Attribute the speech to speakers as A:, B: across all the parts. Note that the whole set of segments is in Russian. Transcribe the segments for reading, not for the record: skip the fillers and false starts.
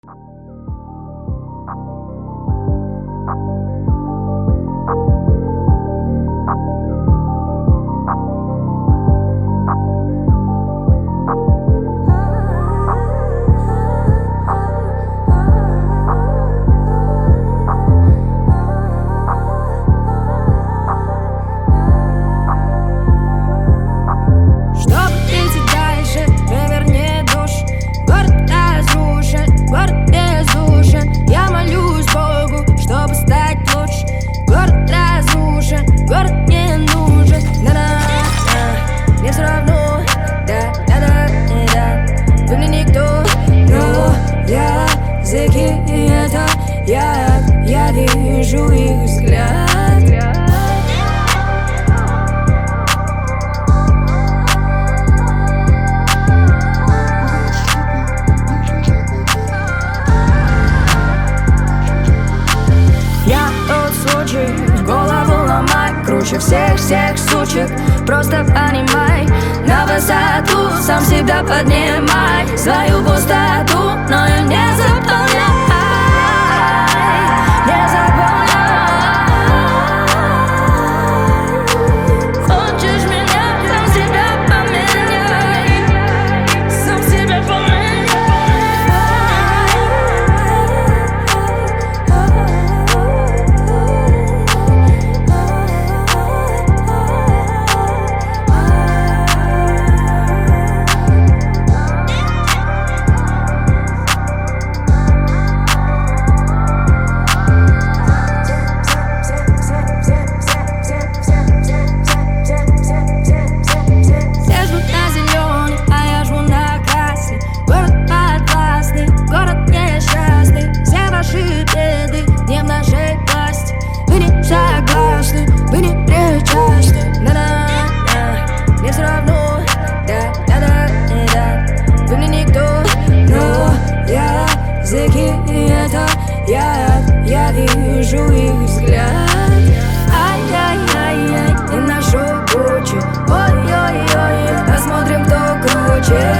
A: Я вижу их взгляд. Я тот случай, голову ломай, круче всех сучек. Просто понимай, на высоту сам себя поднимай. Свою пустоту, но ее не заполняй. Я вижу их взгляд. Ай-яй-яй-яй, и нашу Гуччи. Ой-ой-ой, посмотрим, кто круче.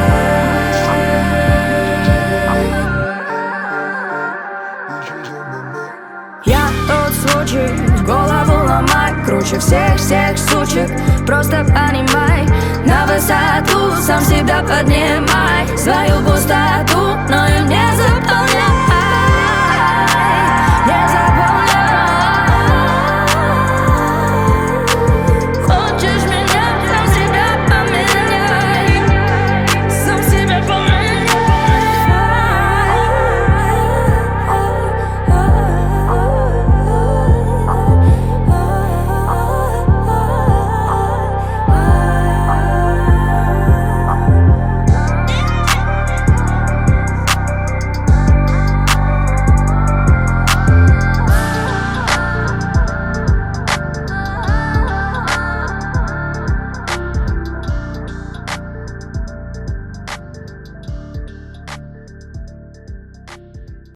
A: Я тот случай, голову ломай, круче всех сучек. Просто понимай, на высоту сам себя поднимай. Свою пустоту, но ее не заполняй.